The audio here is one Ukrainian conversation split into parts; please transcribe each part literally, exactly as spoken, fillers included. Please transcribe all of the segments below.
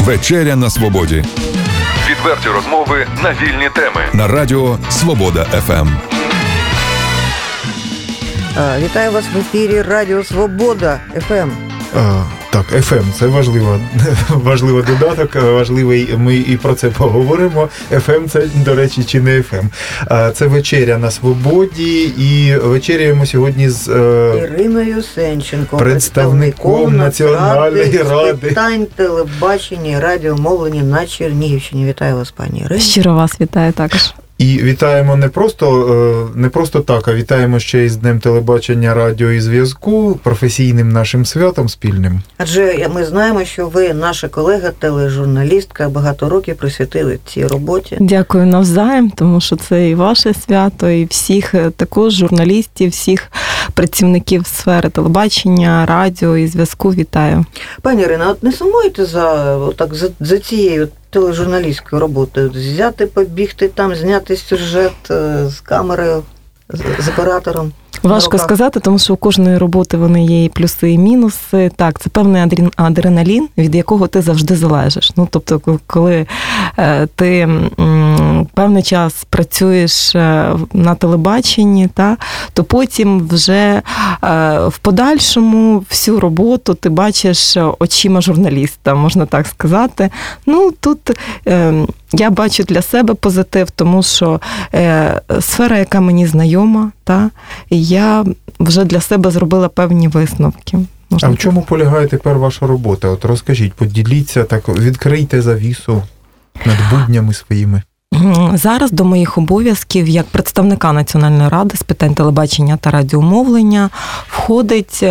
Вечеря на свободі. Відверті розмови на вільні теми. На радіо Свобода еф ем. Вітаю вас в ефірі Радіо Свобода еф ем. А, так, еф ем, це важливо, важливий додаток, важливий, ми і про це поговоримо. еф ем це, до речі, чи не еф ем. А, це вечеря на свободі, і вечеряємо сьогодні з е... Іриною Сенченко, представником Національної ради з питань телебачення і радіомовлення на Чернігівщині. Вітаю вас, пані Ірино. Щиро вас вітаю також. І вітаємо не просто, не просто так, а вітаємо ще й з Днем телебачення, радіо і зв'язку, професійним нашим святом спільним. Адже ми знаємо, що ви, наша колега, тележурналістка, багато років присвятили цій роботі. Дякую навзаєм, тому що це і ваше свято, і всіх також журналістів, всіх працівників сфери телебачення, радіо і зв'язку вітаю. Пані Ірина, от не сумуєте за, так, за, за цією тележурналістською роботою? Взяти, побігти там, зняти сюжет з камерою, з, з оператором? Важко сказати, тому що у кожної роботи вони є і плюси, і мінуси. Так, це певний адреналін, від якого ти завжди залежиш. Ну, тобто, коли ти певний час працюєш на телебаченні, та, то потім вже в подальшому всю роботу ти бачиш очима журналіста, можна так сказати. Ну, тут я бачу для себе позитив, тому що сфера, яка мені знайома, та, я вже для себе зробила певні висновки. Можна а в чому полягає тепер ваша робота? От розкажіть, поділіться, так, відкрийте завісу над буднями своїми. Зараз до моїх обов'язків як представника Національної ради з питань телебачення та радіомовлення входить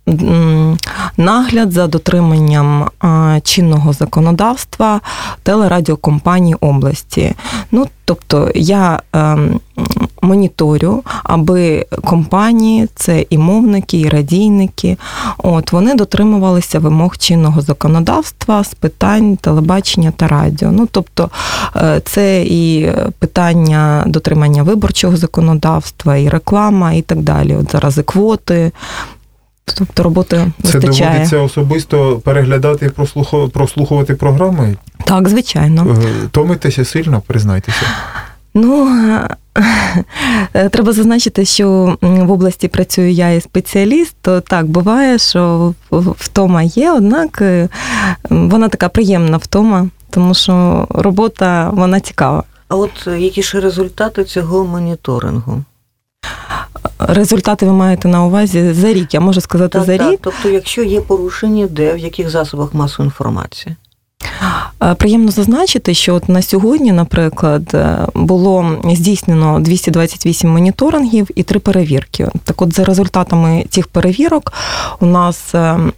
нагляд за дотриманням чинного законодавства телерадіокомпаній області. Ну, тобто я моніторю, аби компанії, це і мовники, і радійники, от, вони дотримувалися вимог чинного законодавства з питань телебачення та радіо. Ну, тобто це і питання дотримання виборчого законодавства, і реклама, і так далі. От зараз і квоти. Тобто роботи вистачає. Це доводиться особисто переглядати і прослухувати програми? Так, звичайно. Томитеся сильно, признайтеся? Ну, треба зазначити, що в області працюю я і спеціаліст, то так, буває, що втома є, однак вона така приємна втома, тому що робота, вона цікава. А от які ж результати цього моніторингу? Результати ви маєте на увазі за рік, я можу сказати так, за так. рік. Тобто, якщо є порушення, де, в яких засобах масової інформації? Приємно зазначити, що от на сьогодні, наприклад, було здійснено двісті двадцять вісім моніторингів і три перевірки. Так от за результатами цих перевірок у нас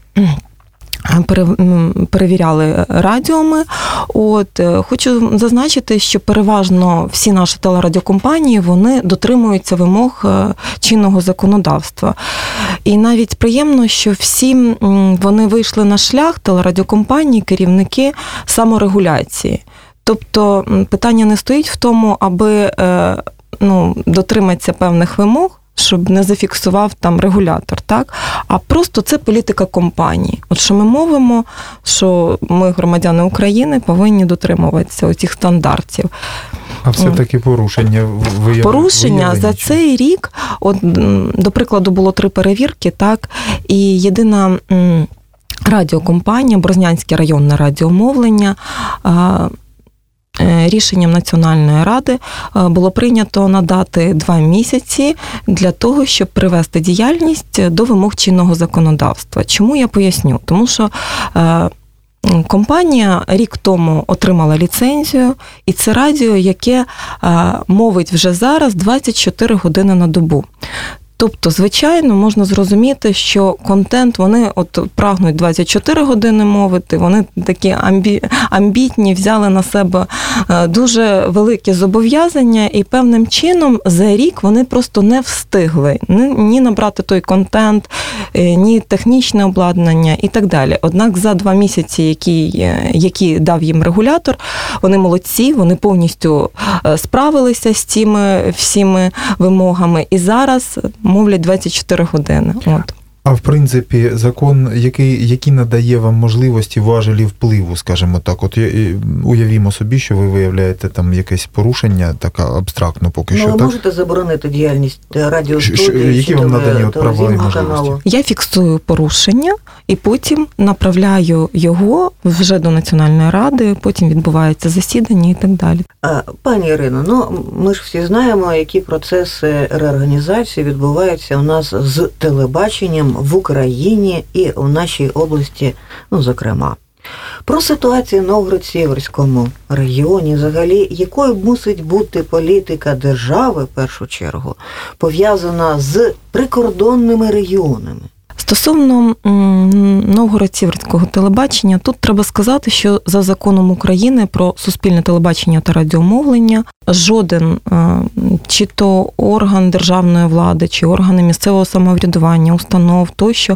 перевіряли радіоми. От, хочу зазначити, що переважно всі наші телерадіокомпанії, вони дотримуються вимог чинного законодавства. І навіть приємно, що всі вони вийшли на шлях телерадіокомпанії, керівники саморегуляції. Тобто питання не стоїть в тому, аби ну, дотриматися певних вимог, щоб не зафіксував там регулятор, так? А просто це політика компанії. От що ми мовимо, що ми, громадяни України, повинні дотримуватися оцих стандартів. А все-таки порушення виявлені? Порушення за цей рік, от, до прикладу, було три перевірки, так? І єдина радіокомпанія, Брознянське районне радіомовлення, рішенням Національної ради було прийнято надати два місяці для того, щоб привести діяльність до вимог чинного законодавства. Чому я поясню? Тому що компанія рік тому отримала ліцензію, і це радіо, яке мовить вже зараз двадцять чотири години на добу. Тобто, звичайно, можна зрозуміти, що контент, вони от прагнуть двадцять чотири години мовити, вони такі амбі... амбітні, взяли на себе дуже великі зобов'язання, і певним чином за рік вони просто не встигли ні набрати той контент, ні технічне обладнання і так далі. Однак за два місяці, які, які дав їм регулятор, вони молодці, вони повністю справилися з цими всіми вимогами, і зараз мовлять двадцять чотири години. От. А в принципі, закон, який, який надає вам можливості важелі впливу, скажімо так, от уявімо собі, що ви виявляєте там якесь порушення, таке абстрактно поки ну, що. Ви так? можете заборонити діяльність радіостудії, які вам надані от права і можливості? Каналу? Я фіксую порушення і потім направляю його вже до Національної ради, потім відбувається засідання і так далі. Пані Ірино, ну ми ж всі знаємо, які процеси реорганізації відбуваються у нас з телебаченням в Україні і в нашій області, ну, зокрема. Про ситуацію в Новгород-Сіверському регіоні, взагалі, якою мусить бути політика держави, в першу чергу, пов'язана з прикордонними регіонами? Стосовно Новгород-Сіверського телебачення, тут треба сказати, що за законом України про суспільне телебачення та радіомовлення жоден чи то орган державної влади, чи органи місцевого самоврядування, установ тощо,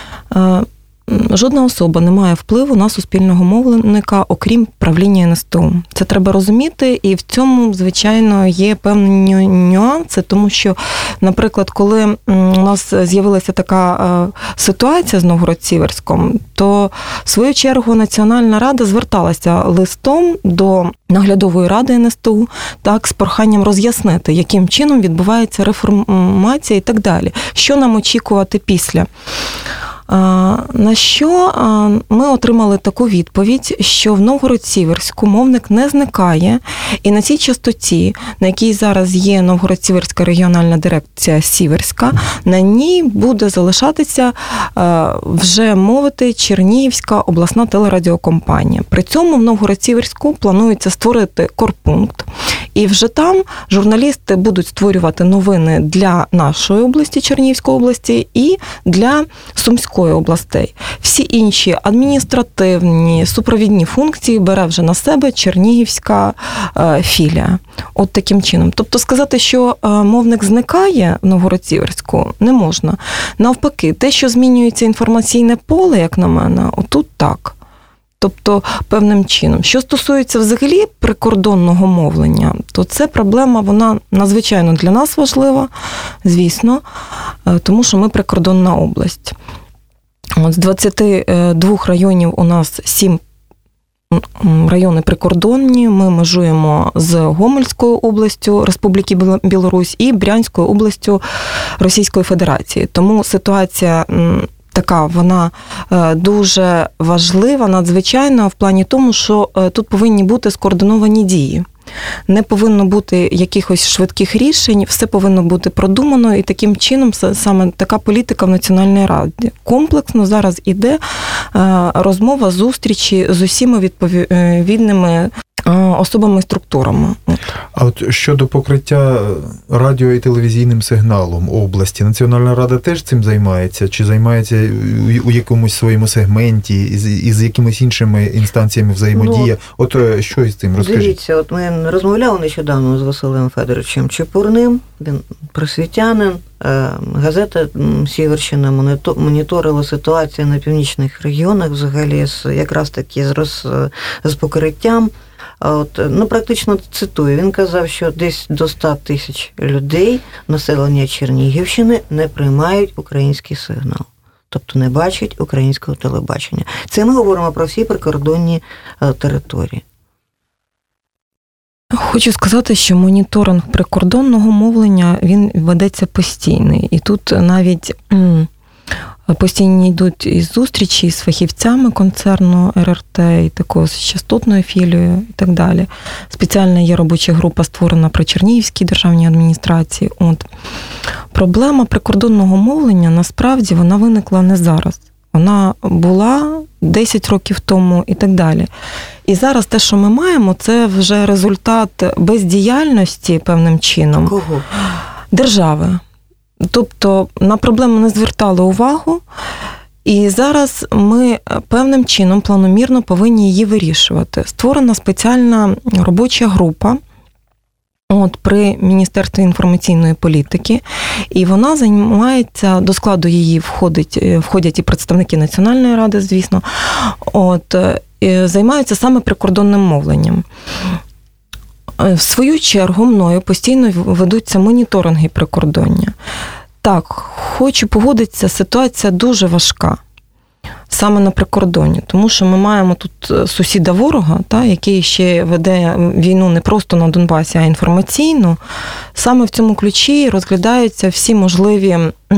жодна особа не має впливу на суспільного мовника, окрім правління ен ес те у. Це треба розуміти, і в цьому, звичайно, є певні нюанси, тому що, наприклад, коли у нас з'явилася така ситуація з Новгород-Сіверськом, то, в свою чергу, Національна рада зверталася листом до наглядової ради ен ес те у, так, з проханням роз'яснити, яким чином відбувається реформація і так далі. Що нам очікувати після? На що ми отримали таку відповідь, що в Новгород-Сіверську мовник не зникає, і на цій частоті, на якій зараз є Новгород-Сіверська регіональна дирекція Сіверська, на ній буде залишатися вже мовити Чернігівська обласна телерадіокомпанія. При цьому в Новгород-Сіверську планується створити корпункт, і вже там журналісти будуть створювати новини для нашої області, Чернігівської області, і для Сумської областей. Всі інші адміністративні, супровідні функції бере вже на себе Чернігівська е, філія. От таким чином. Тобто сказати, що е, мовник зникає в Новгород-Сіверську, не можна. Навпаки, те, що змінюється інформаційне поле, як на мене, отут так. Тобто, певним чином. Що стосується взагалі прикордонного мовлення, то це проблема, вона надзвичайно для нас важлива, звісно, тому що ми прикордонна область. От з двадцяти двох районів у нас сім райони прикордонні, ми межуємо з Гомельською областю Республіки Білорусь і Брянською областю Російської Федерації. Тому ситуація така, вона дуже важлива, надзвичайна в плані тому, що тут повинні бути скоординовані дії. Не повинно бути якихось швидких рішень, все повинно бути продумано, і таким чином саме така політика в Національній раді. Комплексно зараз іде розмова, зустрічі з усіма відповідними особами і структурами. А от щодо покриття радіо- і телевізійним сигналом області, Національна рада теж цим займається? Чи займається у якомусь своєму сегменті, із, із якимись іншими інстанціями взаємодія? Ну, от що із цим? Розкажіть. Дивіться, от ми розмовляли нещодавно з Василем Федоровичем Чепурним, він просвітянин, газета «Сіверщина» моніторила ситуацію на північних регіонах взагалі, якраз таки з, роз, з покриттям. От, ну, практично цитую, він казав, що десь до ста тисяч людей населення Чернігівщини не приймають український сигнал, тобто не бачать українського телебачення. Це ми говоримо про всі прикордонні території. Хочу сказати, що моніторинг прикордонного мовлення, він ведеться постійний. І тут навіть постійно йдуть і зустрічі з фахівцями концерну ер ер те, і також з частотною філією і так далі. Спеціальна є робоча група, створена при Чернігівській державній адміністрації. От. Проблема прикордонного мовлення, насправді, вона виникла не зараз. Вона була десять років тому і так далі. І зараз те, що ми маємо, це вже результат бездіяльності певним чином. Кого? Держави. Тобто на проблему не звертали увагу, і зараз ми певним чином планомірно повинні її вирішувати. Створена спеціальна робоча група от, при Міністерстві інформаційної політики, і вона займається, до складу її входить, входять і представники Національної ради, звісно, от, займаються саме прикордонним мовленням. В свою чергу мною постійно ведуться моніторинги прикордоння. Так, хочу погодитися, ситуація дуже важка. Саме на прикордоні, тому що ми маємо тут сусіда ворога, та, який ще веде війну не просто на Донбасі, а інформаційну. Саме в цьому ключі розглядаються всі можливі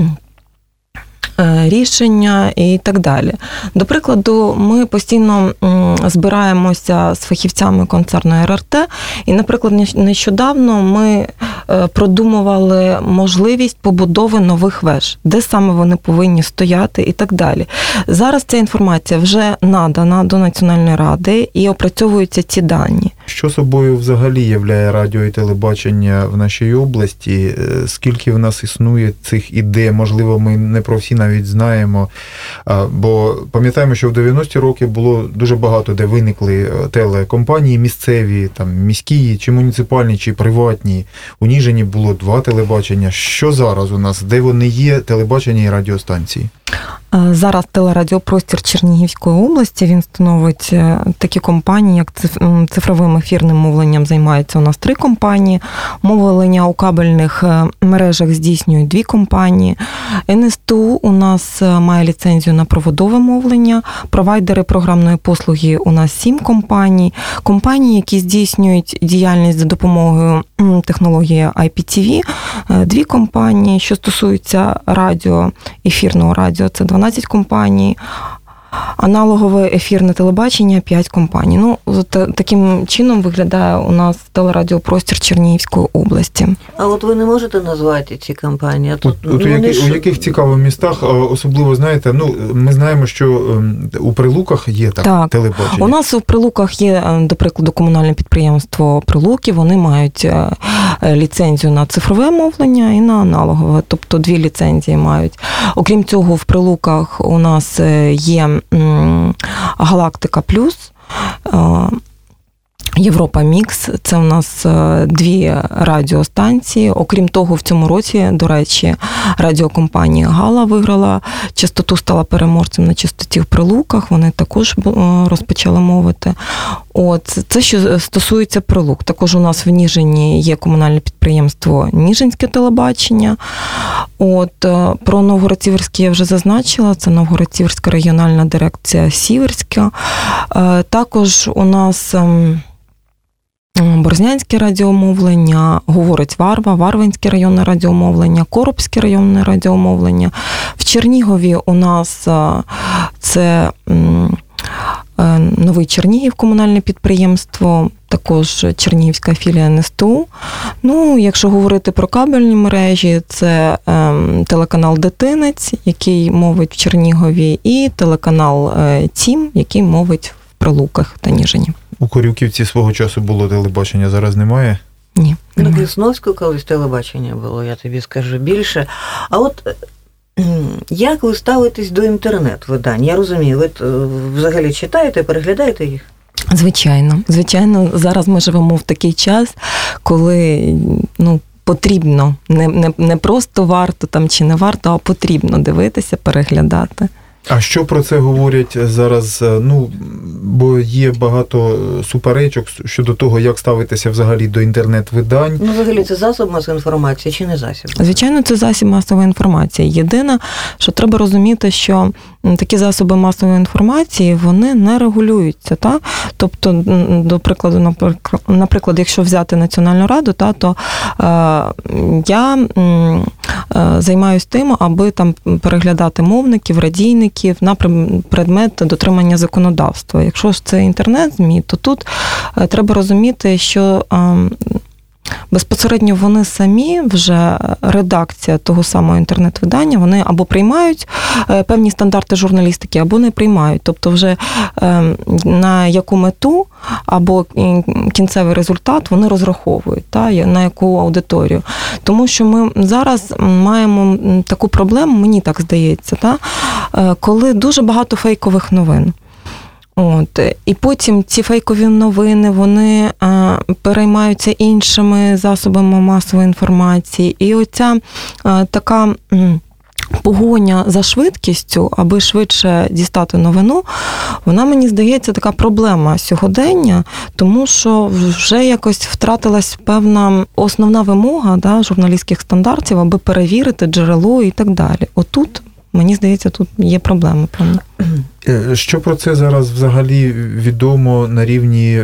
рішення і так далі. До прикладу, ми постійно збираємося з фахівцями концерну ер ер те, і, наприклад, нещодавно ми продумували можливість побудови нових веж, де саме вони повинні стояти і так далі. Зараз ця інформація вже надана до Національної ради і опрацьовуються ці дані. Що собою взагалі являє радіо і телебачення в нашій області? Скільки в нас існує цих ідей? Можливо, ми не про всі навіть знаємо. Бо пам'ятаємо, що в дев'яності роки було дуже багато, де виникли телекомпанії місцеві, там міські, чи муніципальні, чи приватні. У Ніжині було два телебачення. Що зараз у нас? Де вони є, телебачення і радіостанції? Зараз телерадіопростір Чернігівської області, він становить такі компанії, як цифровим ефірним мовленням займаються у нас три компанії, мовлення у кабельних мережах здійснюють дві компанії, ен ес те у у нас має ліцензію на проводове мовлення, провайдери програмної послуги у нас сім компаній, компанії, які здійснюють діяльність за допомогою технології ай пі ті ві, дві компанії, що стосуються радіо, ефірного радіо, це дванадцять компаній, аналогове ефірне телебачення п'ять компаній. Ну, таким чином виглядає у нас телерадіопростір Чернігівської області. А от ви не можете назвати ці компанії? А тут, от, от ну, у, які, ж... у яких цікавих містах, особливо, знаєте, ну, ми знаємо, що у Прилуках є так, так. телебачення. У нас у Прилуках є, до прикладу, комунальне підприємство Прилуки, вони мають ліцензію на цифрове мовлення і на аналогове, тобто дві ліцензії мають. Окрім цього, в Прилуках у нас є Галактика Плюс, Європа Мікс, це у нас дві радіостанції. Окрім того, в цьому році, до речі, радіокомпанія Гала виграла частоту, стала переможцем на частоті в Прилуках, вони також розпочали мовити. От, це що стосується Прилук. Також у нас в Ніжині є комунальне підприємство Ніжинське телебачення. От, про Новгород-Сіверське я вже зазначила, це Новгород-Сіверська регіональна дирекція Сіверська. Також у нас Борзнянське радіомовлення, говорить Варва, Варвинське районне радіомовлення, Коробське районне радіомовлення. В Чернігові у нас це Новий Чернігів комунальне підприємство, також Чернігівська філія ен ес те у. Ну, якщо говорити про кабельні мережі, це телеканал Дитинець, який мовить в Чернігові, і телеканал Тім, який мовить в Прилуках та Ніжині. У Корюківці свого часу було телебачення, зараз немає? Ні. На Крісновську колись телебачення було, я тобі скажу більше. А от як ви ставитесь до інтернет-видань? Я розумію, ви взагалі читаєте, переглядаєте їх? Звичайно. Звичайно, зараз ми живемо в такий час, коли, ну, потрібно, не, не, не просто варто там чи не варто, а потрібно дивитися, переглядати. А що про це говорять зараз? Ну, бо є багато суперечок щодо того, як ставитися взагалі до інтернет-видань. Ну, взагалі, це засіб масової інформації чи не засіб? Звичайно, це засіб масової інформації. Єдине, що треба розуміти, що такі засоби масової інформації, вони не регулюються. Та? Тобто, до прикладу, наприклад, якщо взяти Національну раду, та, то е, я е, займаюся тим, аби там переглядати мовників, радійників, на предмет дотримання законодавства. Якщо ж це інтернет-ЗМІ, то тут треба розуміти, що безпосередньо вони самі, вже редакція того самого інтернет-видання, вони або приймають певні стандарти журналістики, або не приймають. Тобто вже на яку мету або кінцевий результат вони розраховують, та, на яку аудиторію. Тому що ми зараз маємо таку проблему, мені так здається, та, коли дуже багато фейкових новин. От. І потім ці фейкові новини, вони а, переймаються іншими засобами масової інформації. І оця а, така м, погоня за швидкістю, аби швидше дістати новину, вона, мені здається, така проблема сьогодення, тому що вже якось втратилась певна основна вимога, да, журналістських стандартів, аби перевірити джерело і так далі. Отут, мені здається, тут є проблема. Правда? Що про це зараз взагалі відомо на рівні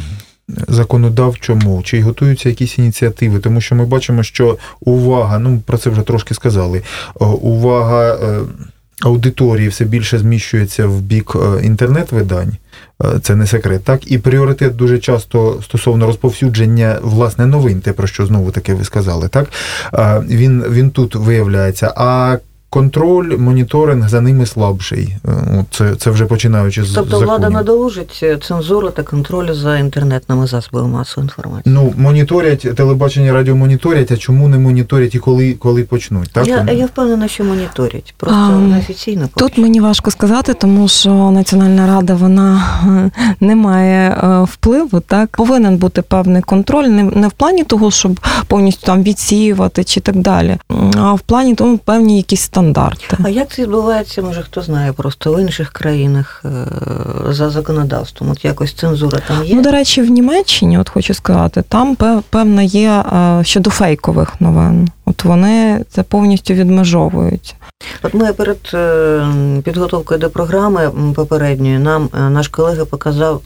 законодавчому? Чи готуються якісь ініціативи? Тому що ми бачимо, що увага, ну про це вже трошки сказали, увага аудиторії все більше зміщується в бік інтернет-видань, це не секрет, так? І пріоритет дуже часто стосовно розповсюдження, власне, новин, те, про що знову-таки ви сказали, так? Він, він тут виявляється. А контроль, моніторинг за ними слабший. Це, це вже починаючи з тобто законів. Влада надолужить цензуру та контроль за інтернетними засобами масової інформації. Ну, моніторять, телебачення, радіо моніторять, а чому не моніторять і коли, коли почнуть? Так? Я, я впевнена, що моніторять, просто а, неофіційно. Тут мені важко сказати, тому що Національна рада, вона не має впливу, так? Повинен бути певний контроль, не, не в плані того, щоб повністю там відсіювати чи так далі, а в плані тому певні якісь стандарти. А як це відбувається, може, хто знає, просто в інших країнах за законодавством? От якось цензура там є? Ну, до речі, в Німеччині, от хочу сказати, там певна є щодо фейкових новин. От вони це повністю відмежовують. От ми перед підготовкою до програми попередньої нам наш колега показав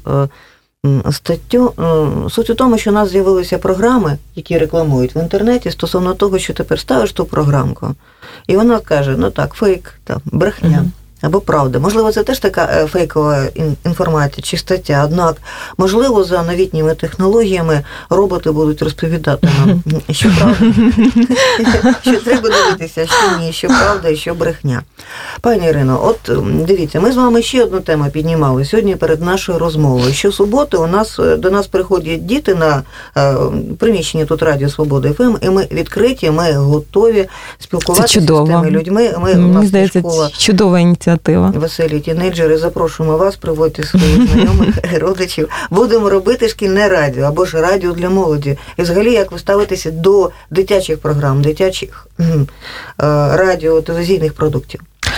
статтю. Суть у тому, що у нас з'явилися програми, які рекламують в інтернеті стосовно того, що тепер ставиш ту програмку, і вона каже, ну так, фейк, там, брехня. Mm-hmm. Або правда. Можливо, це теж така фейкова інформація чи стаття, однак, можливо, за новітніми технологіями роботи будуть розповідати нам, що правда, що треба дивитися, що ні, що правда і що брехня. Пані Ірино, от дивіться, ми з вами ще одну тему піднімали сьогодні перед нашою розмовою. Щосуботи у нас, до нас приходять діти на приміщенні тут Радіо Свобода еф ем, і ми відкриті, ми готові спілкуватися з тими людьми. Ми, Мені здається, школа... чудова ініціатива. Веселі тінейджери, запрошуємо вас, приводьте своїх знайомих, родичів. Будемо робити шкільне радіо, або ж радіо для молоді. І взагалі, як ви ставитеся до дитячих програм, дитячих радіо, телевізійних продуктів?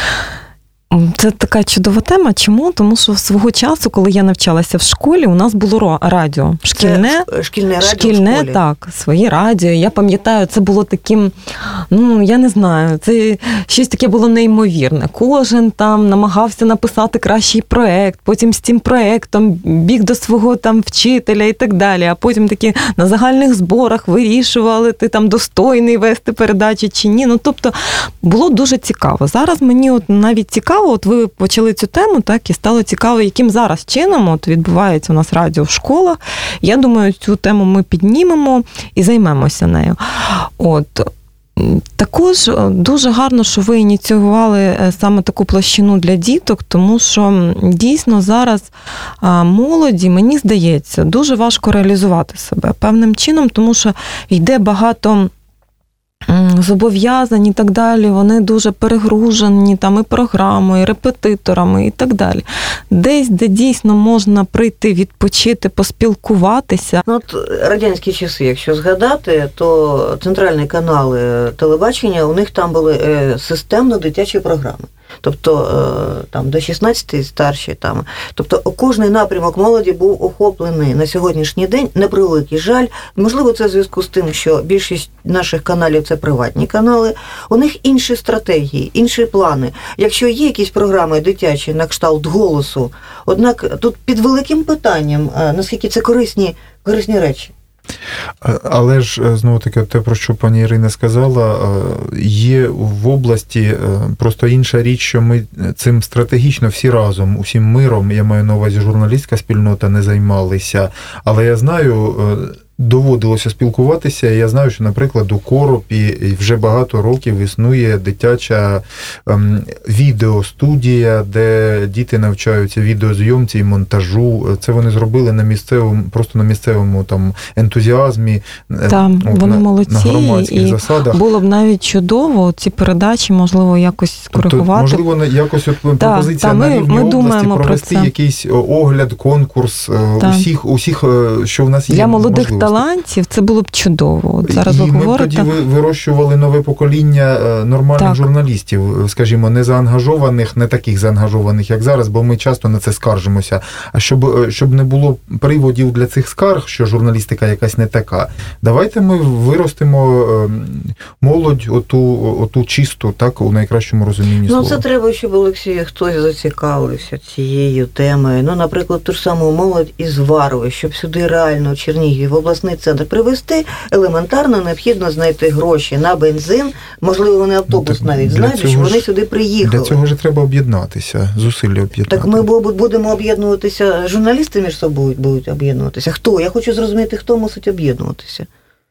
Це така чудова тема. Чому? Тому що свого часу, коли я навчалася в школі, у нас було радіо. Шкільне, це шкільне радіо шкільне, в школі. Так, своє радіо. Я пам'ятаю, це було таким, ну, я не знаю, це щось таке було неймовірне. Кожен там намагався написати кращий проект, потім з цим проектом біг до свого там вчителя і так далі, а потім такі на загальних зборах вирішували, ти там достойний вести передачі чи ні. Ну, тобто, було дуже цікаво. Зараз мені от навіть цікаво, от ви почали цю тему, так, і стало цікаво, яким зараз чином от відбувається у нас радіо в школах. Я думаю, цю тему ми піднімемо і займемося нею. От. Також дуже гарно, що ви ініціювали саме таку площину для діток, тому що дійсно зараз молоді, мені здається, дуже важко реалізувати себе певним чином, тому що йде багато зобов'язані і так далі, вони дуже перегружені там і програмою, і репетиторами і так далі. Десь, де дійсно можна прийти, відпочити, поспілкуватися. Ну, от радянські часи, якщо згадати, то центральні канали телебачення, у них там були системно дитячі програми. Тобто там до шістнадцяти старші там. Тобто кожний напрямок молоді був охоплений на сьогоднішній день, на превеликий жаль. Можливо, це в зв'язку з тим, що більшість наших каналів це приватні канали. У них інші стратегії, інші плани. Якщо є якісь програми дитячі на кшталт голосу, однак тут під великим питанням, наскільки це корисні, корисні речі. Але ж, знову-таки, те, про що пані Ірина сказала, є в області просто інша річ, що ми цим стратегічно всі разом, усім миром, я маю на увазі журналістська спільнота, не займалися. Але я знаю, доводилося спілкуватися, і я знаю, що, наприклад, у Коропі вже багато років існує дитяча ем, відеостудія, де діти навчаються відеозйомці і монтажу. Це вони зробили на місцевому, просто на місцевому там ентузіазмі, там от, вони на, молодці, на громадських і засадах. Було б навіть чудово ці передачі, можливо, якось скоригувати. Тобто, можливо, якось от пропозиція та, на ми, рівні ми області провести якийсь огляд, конкурс та. усіх, усіх, що в нас є. Для молодих можливо. талантів, це було б чудово. От зараз і ви ми говорите. тоді вирощували нове покоління нормальних так. журналістів, скажімо, не заангажованих, не таких заангажованих, як зараз, бо ми часто на це скаржимося. А щоб, щоб не було приводів для цих скарг, що журналістика якась не така, давайте ми виростимо молодь оту, оту чисту, так, у найкращому розумінні слова. Ну, це треба, щоб, Олексій, хтось зацікавився цією темою. Ну, наприклад, ту ж саму молодь із Варви, щоб сюди реально Чернігів, в обласний центр привезти, елементарно необхідно знайти гроші на бензин, можливо, вони автобус ну, навіть знайдуть, щоб вони сюди приїхали. Для цього ж треба об'єднатися, зусилля об'єднати. Так ми будемо об'єднуватися, журналісти між собою будуть об'єднуватися. Хто? Я хочу зрозуміти, хто мусить об'єднуватися.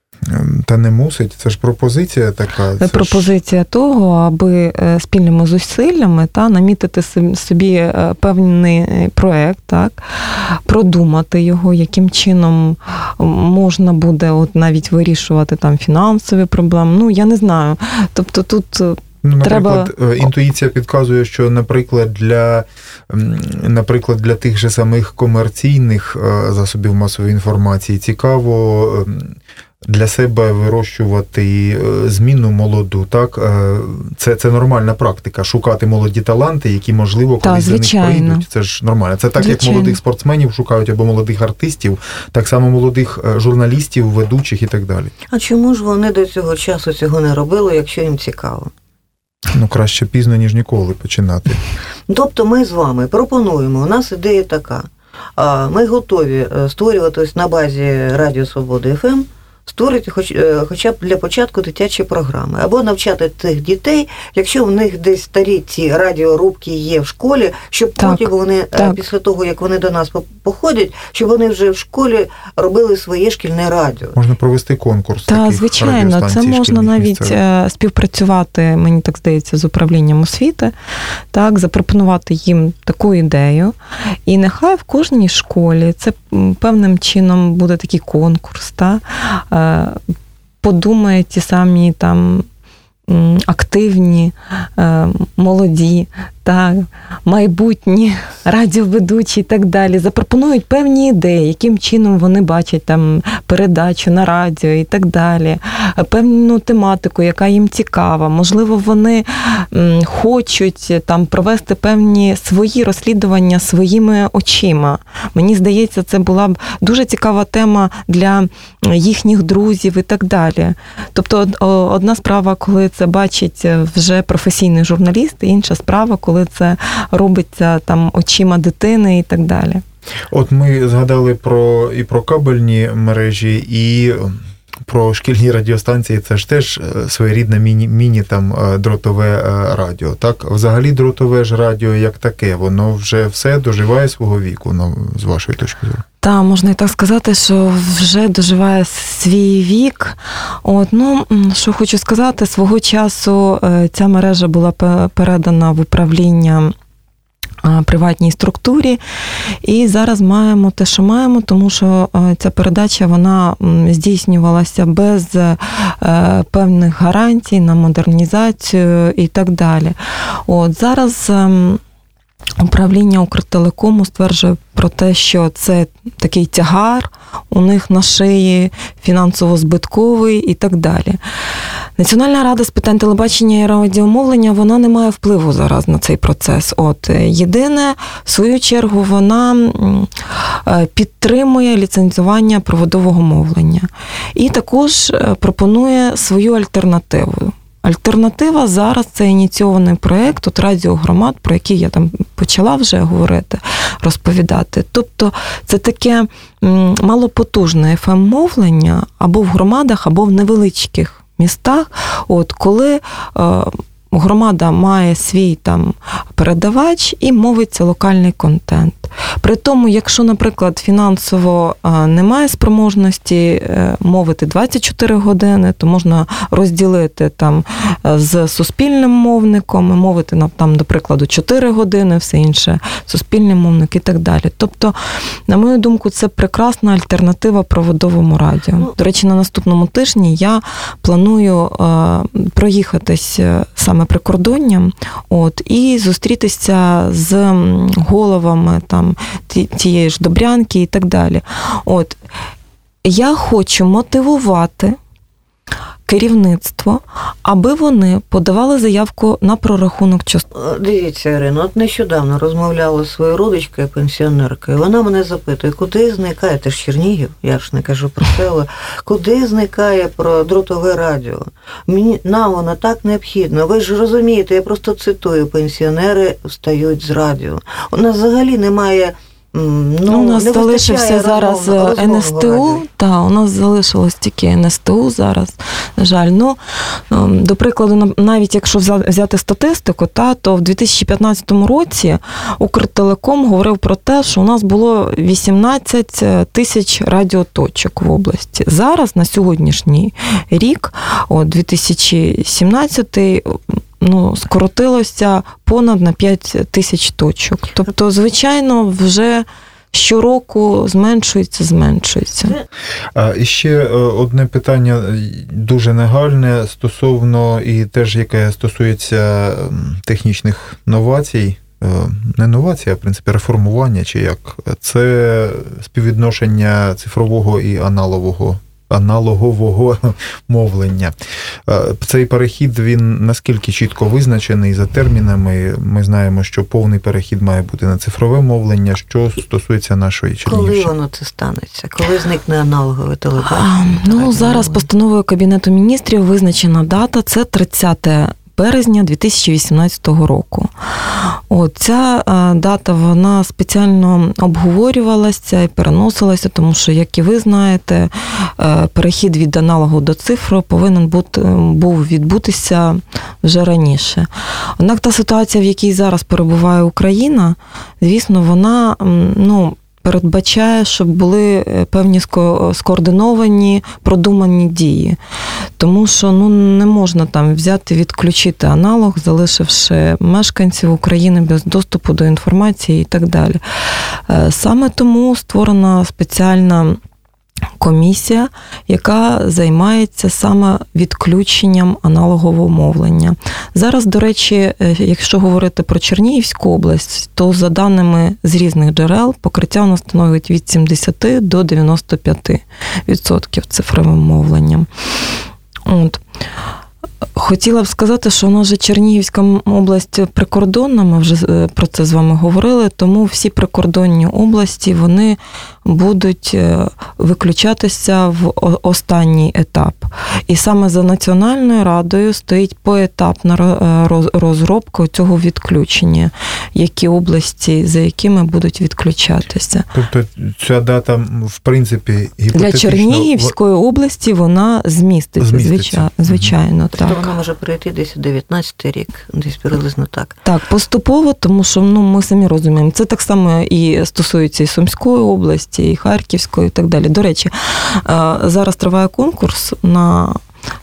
Та не мусить, це ж пропозиція така. Це пропозиція ж... того, аби спільними зусиллями та намітити собі певний проект, так, продумати його, яким чином можна буде от навіть вирішувати там фінансові проблеми. Ну, я не знаю. Тобто тут Ну, наприклад, треба... інтуїція підказує, що, наприклад, для, наприклад, для тих же самих комерційних засобів масової інформації цікаво для себе вирощувати зміну молоду, так? Це, це нормальна практика, шукати молоді таланти, які, можливо, колись за них прийдуть. Це ж нормально. Це так, звичайно. Як молодих спортсменів шукають або молодих артистів, так само молодих журналістів, ведучих і так далі. А чому ж вони до цього часу цього не робили, якщо їм цікаво? Ну, краще пізно, ніж ніколи починати. Тобто ми з вами пропонуємо, у нас ідея така. Ми готові створювати на базі Радіо Свобода еф ем, створити хоч, хоча б для початку дитячі програми. Або навчати тих дітей, якщо в них десь старі ці радіорубки є в школі, щоб так, потім вони, так. після того, як вони до нас походять, щоб вони вже в школі робили своє шкільне радіо. Можна провести конкурс Так, таких звичайно, це можна навіть місцевих. співпрацювати, мені так здається, з управлінням освіти, так, запропонувати їм таку ідею. І нехай в кожній школі це певним чином буде такий конкурс, так, подумають ті самі там активні, молоді, так, майбутні радіоведучі і так далі, запропонують певні ідеї, яким чином вони бачать там передачу на радіо і так далі, певну тематику, яка їм цікава. Можливо, вони хочуть там провести певні свої розслідування своїми очима. Мені здається, це була б дуже цікава тема для їхніх друзів і так далі. Тобто одна справа, коли це бачить вже професійний журналіст, і інша справа, коли коли це робиться там очима дитини і так далі. От ми згадали про і про кабельні мережі, і про шкільні радіостанції. Це ж теж своєрідне міні, міні там дротове радіо. Так, взагалі дротове ж радіо як таке, воно вже все доживає свого віку, ну, з вашої точки зору. Так, можна і так сказати, що вже доживає свій вік. От, ну, що хочу сказати, свого часу ця мережа була передана в управління приватній структурі, і зараз маємо те, що маємо, тому що ця передача, вона здійснювалася без певних гарантій на модернізацію і так далі. От, зараз управління Укртелекому стверджує про те, що це такий тягар у них на шиї, фінансово-збитковий і так далі. Національна рада з питань телебачення і радіомовлення, вона не має впливу зараз на цей процес. От, єдине, в свою чергу, вона підтримує ліцензування проводового мовлення. І також пропонує свою альтернативу. Альтернатива зараз – це ініційований проєкт от радіогромад, про який я там почала вже говорити, розповідати. Тобто це таке малопотужне еф ем-мовлення або в громадах, або в невеличких містах, от, коли е, громада має свій там передавач і мовиться локальний контент. При тому, якщо, наприклад, фінансово немає спроможності мовити двадцять чотири години, то можна розділити там з суспільним мовником, мовити там, до прикладу, чотири години, все інше суспільний мовник і так далі. Тобто, на мою думку, це прекрасна альтернатива проводовому радіо. До речі, на наступному тижні я планую проїхатись саме прикордонням, от, і зустрітися з головами там тієї ж Добрянки і так далі. От. я хочу мотивувати керівництво, аби вони подавали заявку на прорахунок частки. Дивіться, Ірино, от нещодавно розмовляла з своєю родичкою, пенсіонеркою, вона мене запитує, куди зникає, ти ж Чернігів, я ж не кажу про село, куди зникає про дротове радіо? Мені, нам воно так необхідно, ви ж розумієте, я просто цитую, пенсіонери встають з радіо. У нас взагалі немає... Ну, у нас залишився зараз ен ес те у, та, у нас залишилось тільки ен ес те у зараз, на жаль. Ну, до прикладу, навіть якщо взяти статистику, та, то в дві тисячі п'ятнадцятому році Укртелеком говорив про те, що у нас було вісімнадцять тисяч радіоточок в області. Зараз, на сьогоднішній рік, о, дві тисячі сімнадцятий, ну, скоротилося понад на п'ять тисяч точок. Тобто, звичайно, вже щороку зменшується, зменшується. А і ще одне питання дуже нагальне стосовно, і теж яке стосується технічних новацій, не новацій, а в принципі реформування, чи як, це співвідношення цифрового і аналогового аналогового мовлення. Цей перехід, він наскільки чітко визначений за термінами? Ми знаємо, що повний перехід має бути на цифрове мовлення. Що стосується нашої Чернігівщини? Коли воно це станеться? Коли зникне аналогове телебачення? Ну, зараз постановою Кабінету міністрів визначена дата, це тридцяте березня дві тисячі вісімнадцятого року. От, ця дата, вона спеціально обговорювалася і переносилася, тому що, як і ви знаєте, перехід від аналогу до цифру повинен бути, був відбутися вже раніше. Однак та ситуація, в якій зараз перебуває Україна, звісно, вона, ну, передбачає, щоб були певні скоординовані, продумані дії. Тому що, ну, не можна там взяти, відключити аналог, залишивши мешканців України без доступу до інформації і так далі. Саме тому створена спеціальна комісія, яка займається саме відключенням аналогового мовлення. Зараз, до речі, якщо говорити про Чернігівську область, то за даними з різних джерел покриття у нас становить від сімдесят до дев'яносто п'ять відсотків цифровим мовленням. От. Хотіла б сказати, що у нас же Чернігівська область прикордонна, ми вже про це з вами говорили, тому всі прикордонні області, вони будуть виключатися в останній етап. І саме за Національною радою стоїть поетапна розробка цього відключення, які області, за якими будуть відключатися. Тобто ця дата, в принципі, гіпотетично... Для Чернігівської області вона зміститься, зміститься. звичайно. Тобто так. Вона може прийти десь у дев'ятнадцятий рік, десь приблизно так. Так, поступово, тому що, ну, ми самі розуміємо, це так само і стосується і Сумської області, і Харківської, і так далі. До речі, зараз триває конкурс на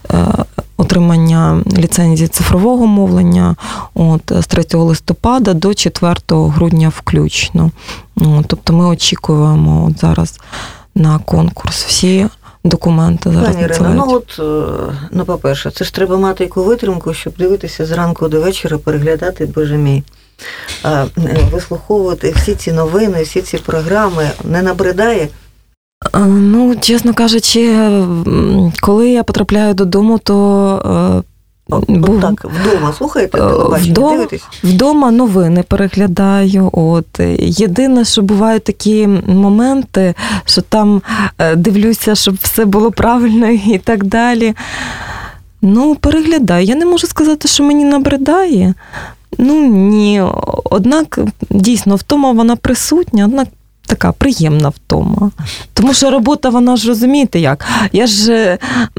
отримання ліцензії цифрового мовлення от, з третього листопада до четвертого грудня включно. От, тобто ми очікуємо от зараз на конкурс. Всі документи зараз Пані Ірино, ну от, ну, по-перше, це ж треба мати яку витримку, щоб дивитися зранку до вечора, переглядати, боже мій, вислуховувати всі ці новини, всі ці програми. Не набридає? Ну, чесно кажучи, коли я потрапляю додому, то... От так, вдома слухаєте телебачення, вдома, дивитесь? Вдома новини переглядаю. От. Єдине, що бувають такі моменти, що там дивлюся, щоб все було правильно і так далі. Ну, переглядаю. Я не можу сказати, що мені набридає. Ну, ні. Однак, дійсно, втома вона присутня, однак така приємна втома. Тому що робота, вона ж, розумієте як, я ж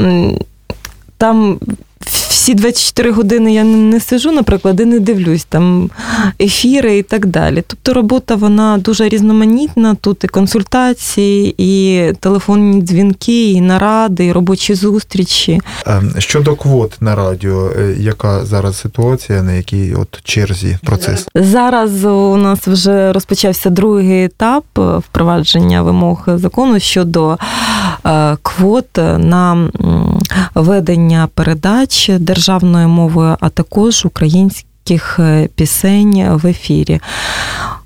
там... Всі двадцять чотири години я не сижу, наприклад, і не дивлюсь там ефіри і так далі. Тобто робота, вона дуже різноманітна, тут і консультації, і телефонні дзвінки, і наради, і робочі зустрічі. Щодо квот на радіо, яка зараз ситуація, на якій от черзі процес? Зараз у нас вже розпочався другий етап впровадження вимог закону щодо квот на ведення передач державною мовою, а також українських пісень в ефірі.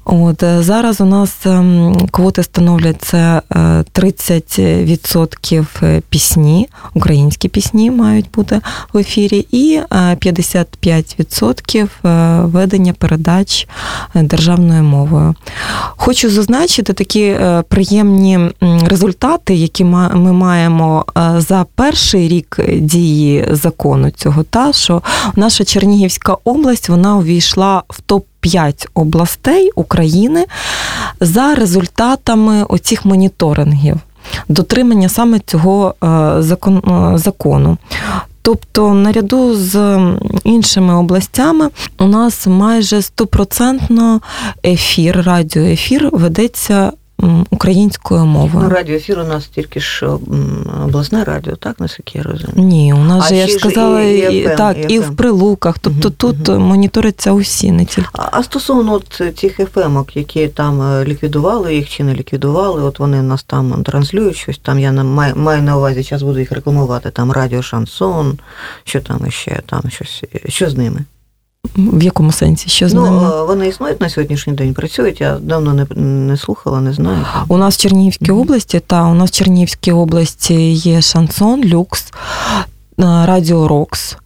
От, зараз у нас квоти становлять це тридцять відсотків пісні, українські пісні мають бути в ефірі, і п'ятдесят п'ять відсотків ведення передач державною мовою. Хочу зазначити такі приємні результати, які ми маємо за перший рік дії закону цього, та, що наша Чернігівська область, вона увійшла в топ п'ять областей України за результатами оцих моніторингів, дотримання саме цього закону. Тобто, наряду з іншими областями у нас майже стопроцентно ефір, радіоефір ведеться українською мовою. Ну, радіоефір у нас тільки ж обласне радіо, так, наскільки я розумію? Ні, у нас а же, я ж сказала, і, і, і, так, і, і в Прилуках, тобто угу, тут угу. моніториться усі, не тільки. А, а стосовно от цих еф емок, які там ліквідували їх чи не ліквідували, от вони нас там транслюють щось, там я маю, маю на увазі, зараз буду їх рекламувати, там радіо Шансон, що там іще, там щось, що з ними? В якому сенсі? Що з ну, ними? Вони існують на сьогоднішній день, працюють, я давно не, не слухала, не знаю. У нас в Чернігівській mm-hmm. області, та, у нас в Чернігівській області є Шансон, Люкс, Радіо Рокс.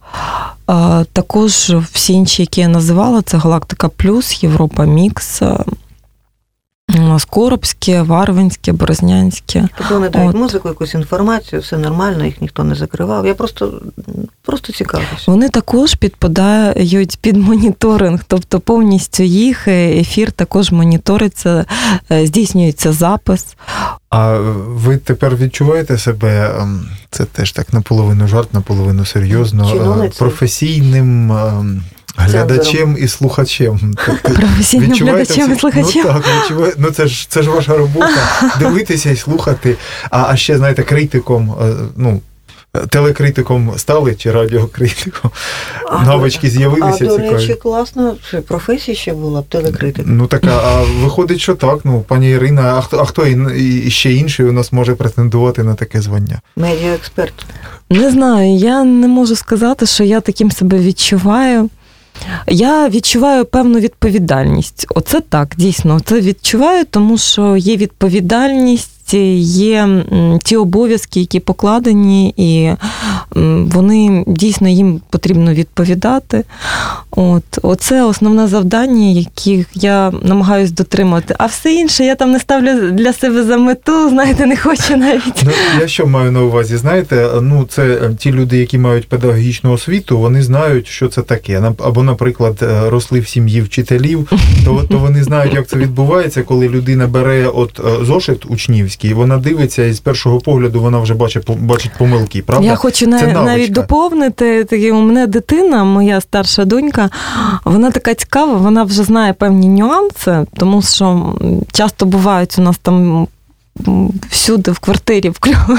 Також всі інші, які я називала, це Галактика Плюс, Європа Мікс, Скоробське, Варвинське, Борознянське. Тобто вони дають музику, якусь інформацію, все нормально, їх ніхто не закривав. Я просто, просто цікавлюся. Вони також підпадають під моніторинг, тобто повністю їх ефір також моніториться, здійснюється запис. А ви тепер відчуваєте себе, це теж так наполовину жарт, наполовину серйозно, чиновниця, професійним глядачем і слухачем. Професійним глядачем і слухачем. Ну так, відчуває... ну це ж, це ж ваша робота, дивитися і слухати. А, а ще, знаєте, критиком, ну, телекритиком стали чи радіокритиком? А, Навички з'явилися цікаві? А, до речі, класно, професія ще була б, телекритик. Ну так, а виходить, що так, ну, пані Ірина, а хто, а хто і ще інший у нас може претендувати на таке звання? Медіаексперт. Не знаю, я не можу сказати, що я таким себе відчуваю. Я відчуваю певну відповідальність. Оце так, дійсно, це відчуваю, тому що є відповідальність, є ті обов'язки, які покладені, і вони дійсно їм потрібно відповідати. От, оце основне завдання, яких я намагаюсь дотримати. А все інше я там не ставлю для себе за мету, знаєте, не хочу навіть. Ну, я що маю на увазі? Знаєте, ну, це ті люди, які мають педагогічну освіту, вони знають, що це таке. Або, наприклад, росли в сім'ї вчителів, то, то вони знають, як це відбувається, коли людина бере от зошит учнівський, вона дивиться, і з першого погляду вона вже бачить, бачить помилки, правда? Я хочу на, навіть доповнити, такі, у мене дитина, моя старша донька, вона така цікава, вона вже знає певні нюанси, тому що часто бувають у нас там всюди в квартирі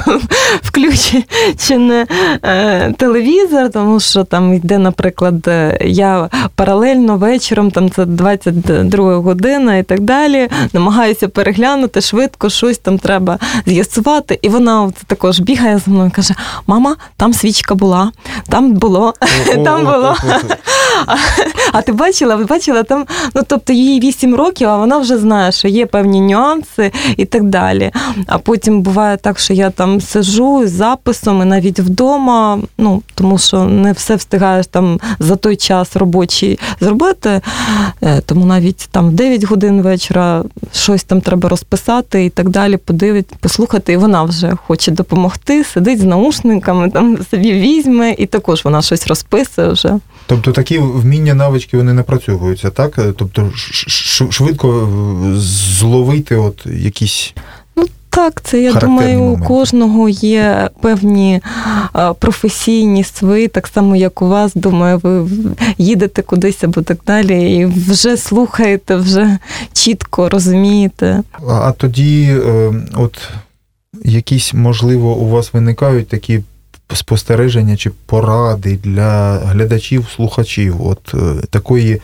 включений телевізор, тому що там йде, наприклад, я паралельно вечором, там це двадцять друга година і так далі, намагаюся переглянути швидко, щось там треба з'ясувати, і вона також бігає за мною і каже: мама, там свічка була, там було, там було. А, а ти бачила, ви бачила там, ну, тобто їй вісім років, а вона вже знає, що є певні нюанси і так далі. А потім буває так, що я там сиджу з записом і навіть вдома, ну, тому що не все встигаєш там за той час робочий зробити, тому навіть там в дев'ять годин вечора щось там треба розписати і так далі, подивити, послухати, і вона вже хоче допомогти, сидить з наушниками, там собі візьме, і також вона щось розписує вже. Тобто такі вміння, навички, вони напрацьовуються, так? Тобто швидко зловити от якісь... Ну так, це, я думаю, моменти. У кожного є певні професійні свої, так само, як у вас, думаю, ви їдете кудись або так далі, і вже слухаєте, вже чітко розумієте. А тоді, от, якісь, можливо, у вас виникають такі спостереження чи поради для глядачів, слухачів, от такої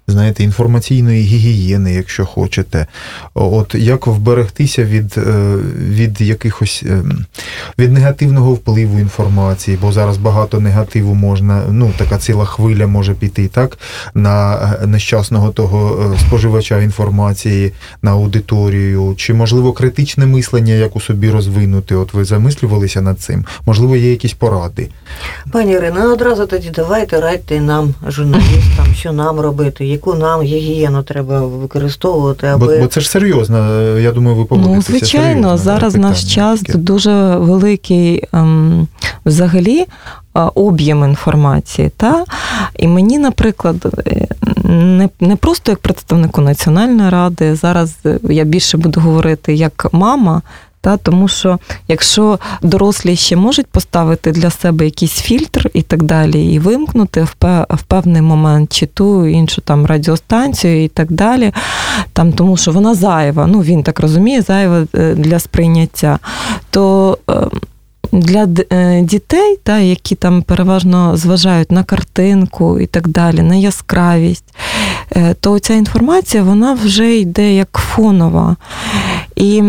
знаєте, інформаційної гігієни, якщо хочете. От як вберегтися від, від якихось, від негативного впливу інформації, бо зараз багато негативу можна, ну, така ціла хвиля може піти, так, на нещасного того споживача інформації, на аудиторію, чи, можливо, критичне мислення, як у собі розвинути? От ви замислювалися над цим? Можливо, є якісь поради? Пані Ірино, одразу тоді давайте радьте нам, журналістам, що нам робити, яку нам гігієну треба використовувати, аби... Бо, бо це ж серйозно, я думаю, ви погодитеся. Ну, звичайно, зараз наш час таке. Дуже великий ем, взагалі об'єм інформації. Та? І мені, наприклад, не, не просто як представнику Національної ради, зараз я більше буду говорити як мама, та, тому що якщо дорослі ще можуть поставити для себе якийсь фільтр і так далі, і вимкнути в, в певний момент чи ту іншу там радіостанцію і так далі, там, тому що вона зайва, ну він так розуміє, зайва для сприйняття, то для дітей, та, які там переважно зважають на картинку і так далі, на яскравість, то ця інформація, вона вже йде як фонова. І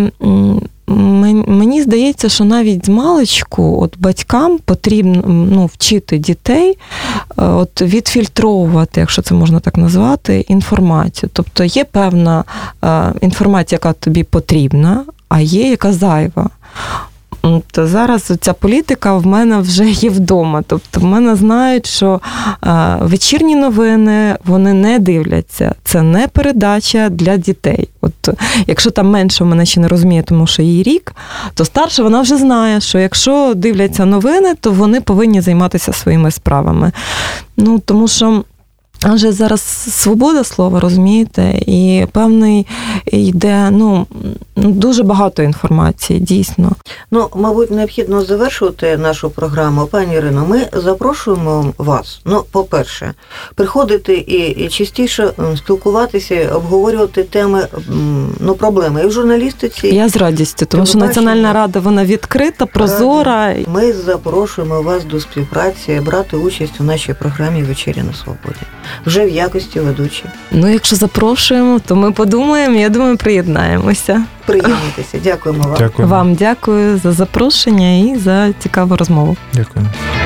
мені здається, що навіть з маличку от батькам потрібно, ну, вчити дітей от відфільтровувати, якщо це можна так назвати, інформацію. Тобто є певна інформація, яка тобі потрібна, а є яка зайва. То зараз ця політика в мене вже є вдома. Тобто в мене знають, що а, вечірні новини вони не дивляться. Це не передача для дітей. От якщо там менше в мене ще не розуміє, тому що їй рік, то старша вона вже знає, що якщо дивляться новини, то вони повинні займатися своїми справами. Ну, тому що адже зараз свобода слова, розумієте, і певний йде, ну, дуже багато інформації, дійсно. Ну, мабуть, необхідно завершувати нашу програму. Пані Ірино, ми запрошуємо вас, ну, по-перше, приходити і, і частіше спілкуватися, обговорювати теми, ну, проблеми і в журналістиці. Я з радістю, тому що Національна рада, вона відкрита, прозора. Ми запрошуємо вас до співпраці, брати участь у нашій програмі «Вечеря на свободі». Вже в якості ведучі. Ну, якщо запрошуємо, то ми подумаємо, я думаю, приєднаємося. Приєднуйтеся. Дякуємо вам. Дякуємо. Вам дякую за запрошення і за цікаву розмову. Дякую.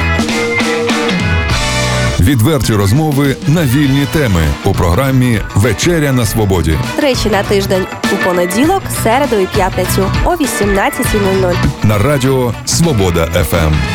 Відверті розмови на вільні теми у програмі «Вечеря на свободі». Тричі на тиждень у понеділок, середу і п'ятницю о вісімнадцятій нуль нуль. На радіо «Свобода еф ем».